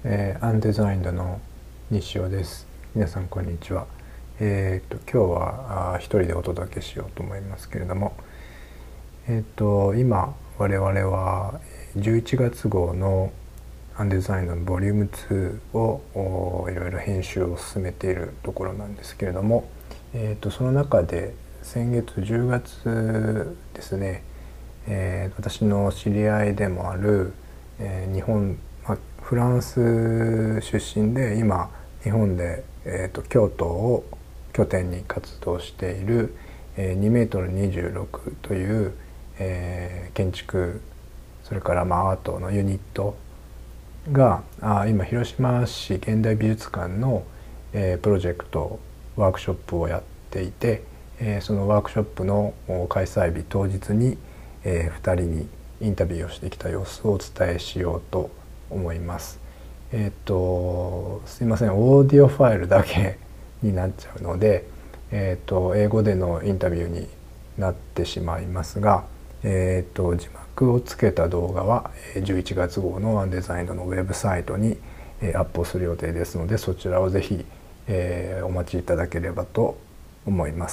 アンデザインドの西尾です。皆さんこんにちは。今日は一人でお届けしようと思いますけれども、今我々は11月号のアンデザインドのボリューム2をいろいろ編集を進めているところなんですけれども、その中で先月10月ですね、私の知り合いでもある、日本、フランス出身で今日本で、京都を拠点に活動している、2メートル26という、建築それからアートのユニットが今広島市現代美術館の、プロジェクトワークショップをやっていて、そのワークショップの開催日当日に、2人にインタビューをしてきた様子をお伝えしようと思います。すいません、オーディオファイルだけになっちゃうので、英語でのインタビューになってしまいますが、字幕をつけた動画は11月号のワンデザインドのウェブサイトにアップをする予定ですので、そちらをぜひお待ちいただければと思います。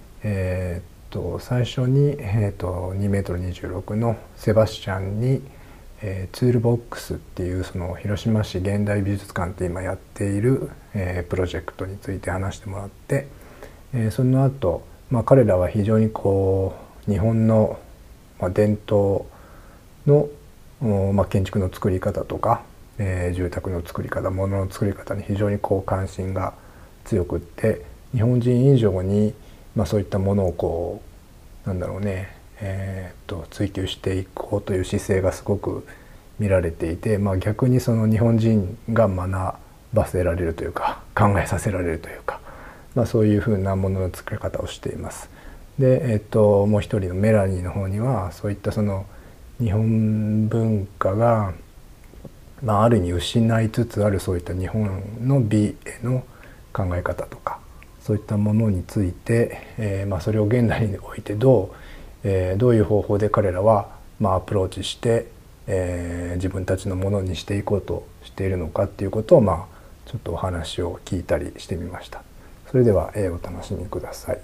最初に2メートル26のセバスチャンにツールボックスっていうその広島市現代美術館って今やっているプロジェクトについて話してもらって、その後、彼らは非常に日本の伝統の建築の作り方とか住宅の作り方、物の作り方に非常に関心が強くって、日本人以上にそういったものを追求していこうという姿勢がすごく見られていて、逆にその日本人が学ばせられるというか考えさせられるというか、そういうふうなものの作り方をしています。で、もう一人のメラニーの方にはそういったその日本文化が、ある意味失いつつあるそういった日本の美への考え方とかそういったものについて、それを現代においてどういう方法で彼らはアプローチして、自分たちのものにしていこうとしているのかっていうことをちょっとお話を聞いたりしてみました。それでは、お楽しみください。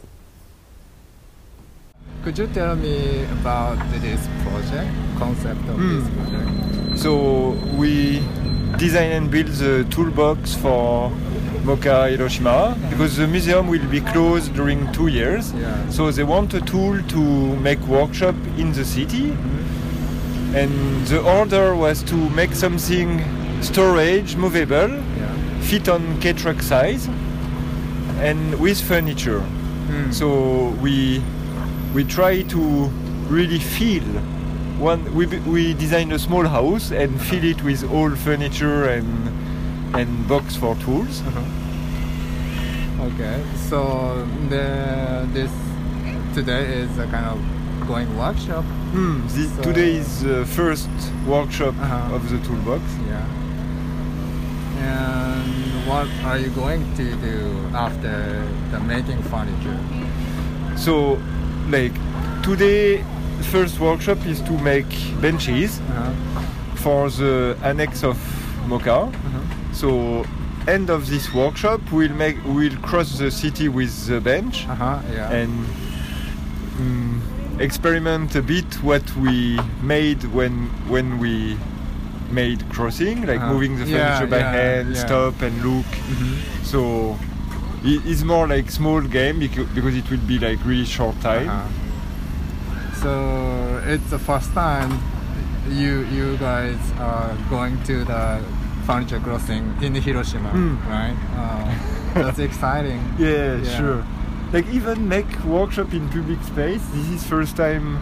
Could you tell me about this project, concept of this project? So we design and build the toolbox for MoCA Hiroshima because the museum will be closed during 2 years. Yeah. So they want a tool to make workshop in the city. And the order was to make something storage, movable, fit on K-truck size, and with furniture. So we try to really fill one. We designed a small house and fill it with all furniture and box for tools. Okay, so this today is a kind of going workshop. Today is the first workshop of the toolbox. Yeah. And what are you going to do after the making furniture? So, today, first workshop is to make benches for the annex of MoCA. So, end of this workshop, we'll cross the city with the bench and experiment a bit what we made when we made crossing, moving the furniture by hand, stop and look. So it's more like small game because it will be really short time. So it's the first time you guys are going to the furniture crossing in Hiroshima, right? That's exciting. Yeah, sure. Even make workshop in public space. This is first time.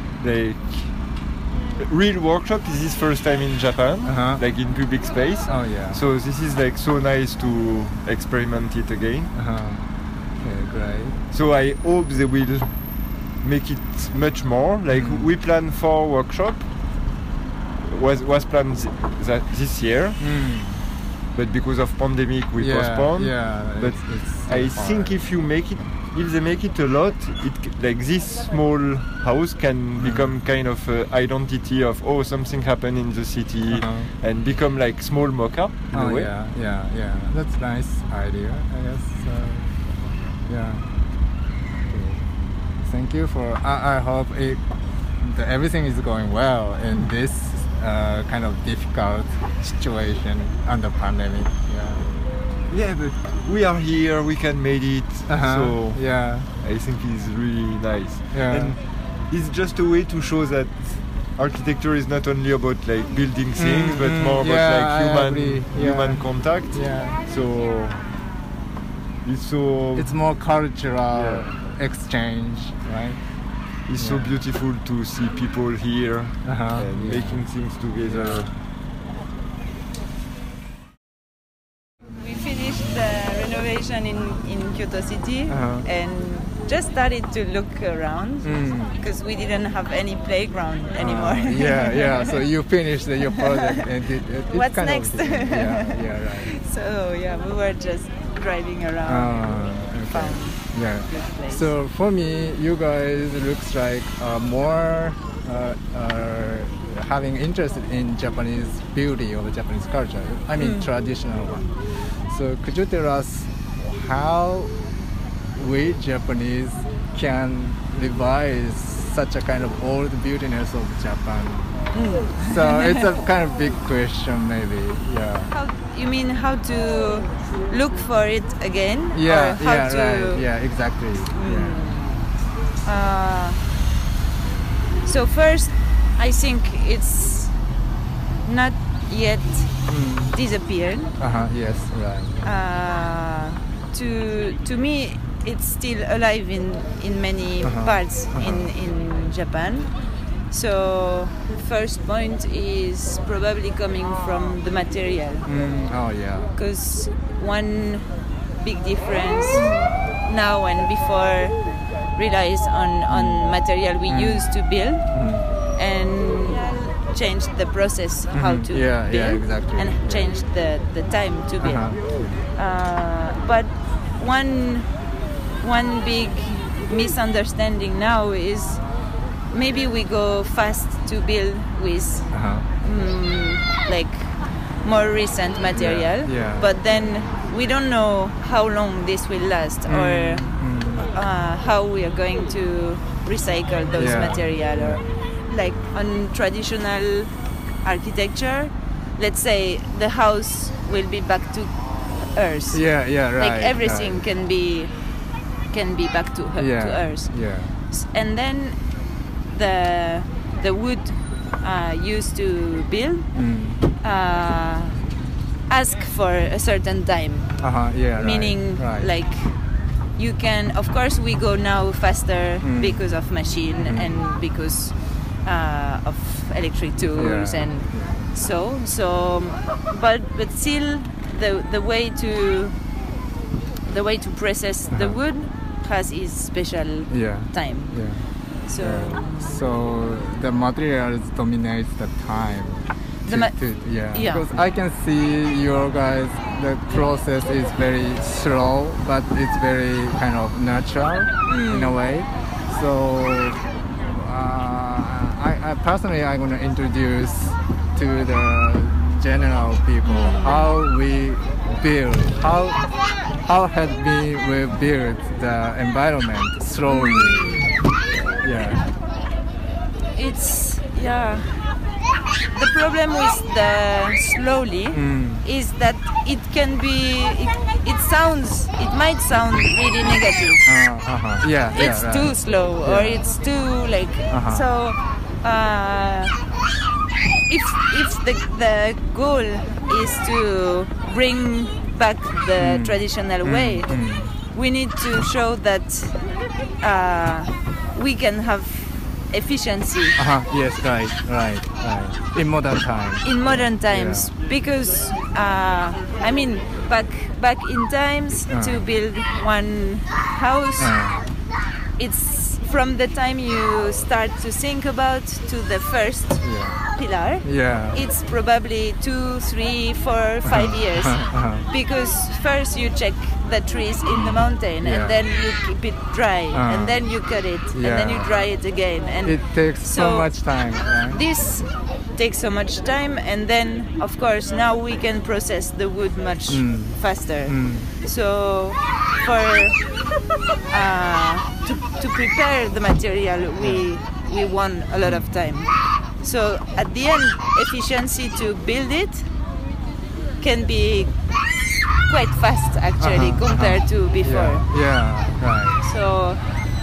Real workshop. This is first time in Japan, in public space. Oh yeah. So this is so nice to experiment it again. Okay, great. So I hope they will make it much more. We plan 4 workshop. Was planned this year. but because of pandemic we postponed. But it's I far. think if they make it a lot, like this small house can become kind of identity of something happened in the city and become like small Mocha in a way. Yeah. That's nice idea, I guess. Yeah. Okay. Thank you for. I hope that everything is going well in this kind of difficult situation under pandemic. Yeah, but we are here. We can make it. So yeah, I think it's really nice. Yeah. And it's just a way to show that architecture is not only about like building things, but more about like human contact. Yeah. So it's more cultural exchange, right? It's so beautiful to see people here and making things together. We finished the renovation in Kyoto City and just started to look around because we didn't have any playground anymore. So you finished your project and what's next? Right. So we were just driving around and found a good place. So for me, you guys looks like more having interest in Japanese beauty or Japanese culture. I mean traditional one. So could you tell us how we Japanese can revise such a kind of old beautiness of Japan? So it's a kind of big question, maybe. You mean how to look for it again? Yeah, or how to... right. Yeah, exactly. So first, I think it's not yet disappeared. Yes, right. To me, it's still alive in many parts in Japan. So first point is probably coming from the material. Because one big difference now and before relies on material we used to build and changed the process how to build exactly. and changed the time to build. But one big misunderstanding now is maybe we go fast to build with like more recent material, but then we don't know how long this will last or how we are going to recycle those material. Or like on traditional architecture, let's say the house will be back to earth. Right. Like everything can be back to earth. And then the wood used to build ask for a certain time. Meaning like you can, of course we go now faster because of machine and because of electric tools and so but still the way to process the wood has its special time. So the materials dominates the time. Because I can see your guys, the process is very slow, but it's very kind of natural in a way. So I personally, I'm going to introduce to the general people how we build, how had we built the environment slowly. It's the problem with the slowly is that it can be it might sound really negative. It's too slow or it's too like so if the goal is to bring back the traditional way, we need to show that we can have efficiency. Right. In modern times. In modern times, because I mean, back in times to build one house, from the time you start to think about to the first pillar, it's probably 2, 3, 4, 5 years. Because first you check the trees in the mountain, and then you keep it dry, and then you cut it, and then you dry it again. And it takes so much time. This takes so much time, and then of course now we can process the wood much faster. So for to prepare the material, we want a lot of time. So at the end, efficiency to build it can be quite fast actually compared to before. Right. So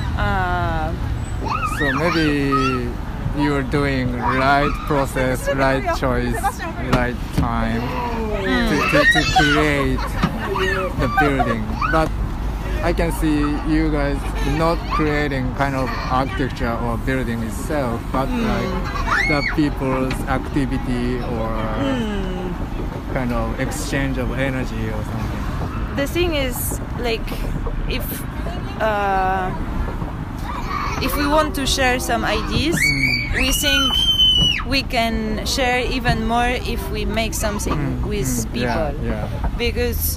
so maybe you're doing right process, right choice, right time to create the building. But I can see you guys not creating kind of architecture or building itself, but like the people's activity or kind of exchange of energy or something. The thing is, like, if we want to share some ideas, we think we can share even more if we make something with people. Because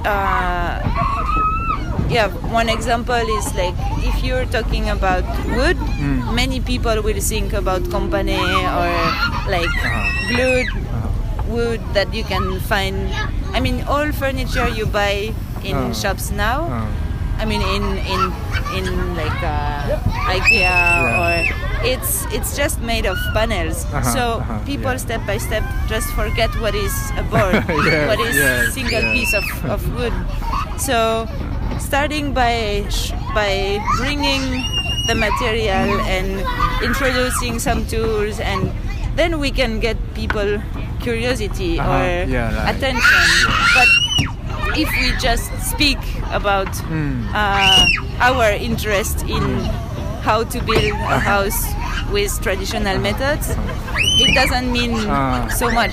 one example is like if you're talking about wood, many people will think about company or like glued wood that you can find. I mean, all furniture you buy in shops now. I mean, in like IKEA or it's just made of panels. So people step by step just forget what is a board, what is single piece of wood. So starting by bringing the material and introducing some tools, and then we can get people curiosity or attention. But if we just speak about our interest in how to build a house with traditional methods, it doesn't mean so much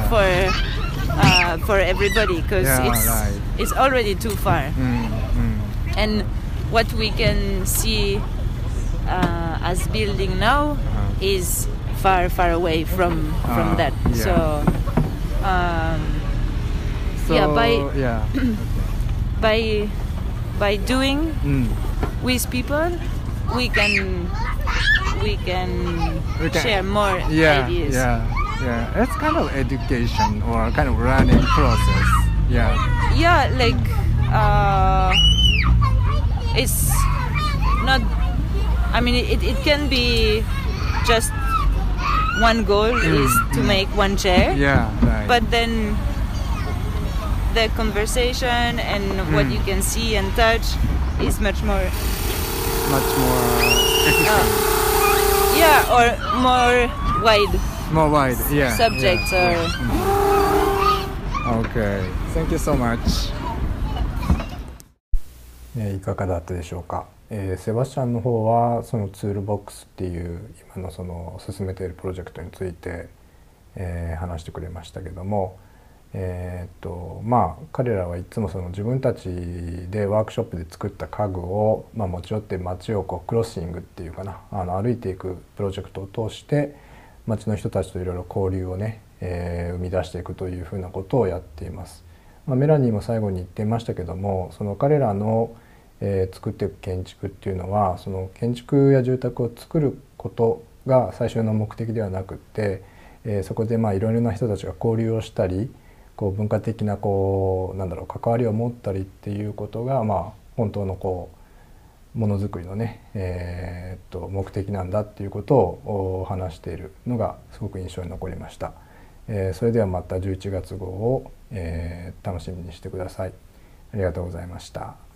for everybody, because it's already too far. And what we can see as building now is far away from that. So by doing with people, we can share more ideas. It's kind of education or kind of learning process. Like it's not, I mean, it can be just one goal is to make one chair, but then the conversation and what you can see and touch is much more efficient. Or more wide subjects. Okay, thank you so much. いかがだったでしょうか。セバスチャンの方はそのツールボックスっていう今のその進めているプロジェクトについて、話してくれましたけども、彼らはいつもその自分たちでワークショップで作った家具を、持ち寄って街をこうクロッシングっていうかな、歩いていくプロジェクトを通して街の人たちといろいろ交流をね、生み出していくというふうなことをやっています。メラニーも最後に言っていましたけども、その彼らの作っていく建築っていうのはその建築や住宅を作ることが最終の目的ではなくって、そこでいろいろな人たちが交流をしたり、こう文化的な関わりを持ったりっていうことが本当のものづくりのね、目的なんだっていうことを話しているのがすごく印象に残りました。それではまた11月号を楽しみにしてください。ありがとうございました。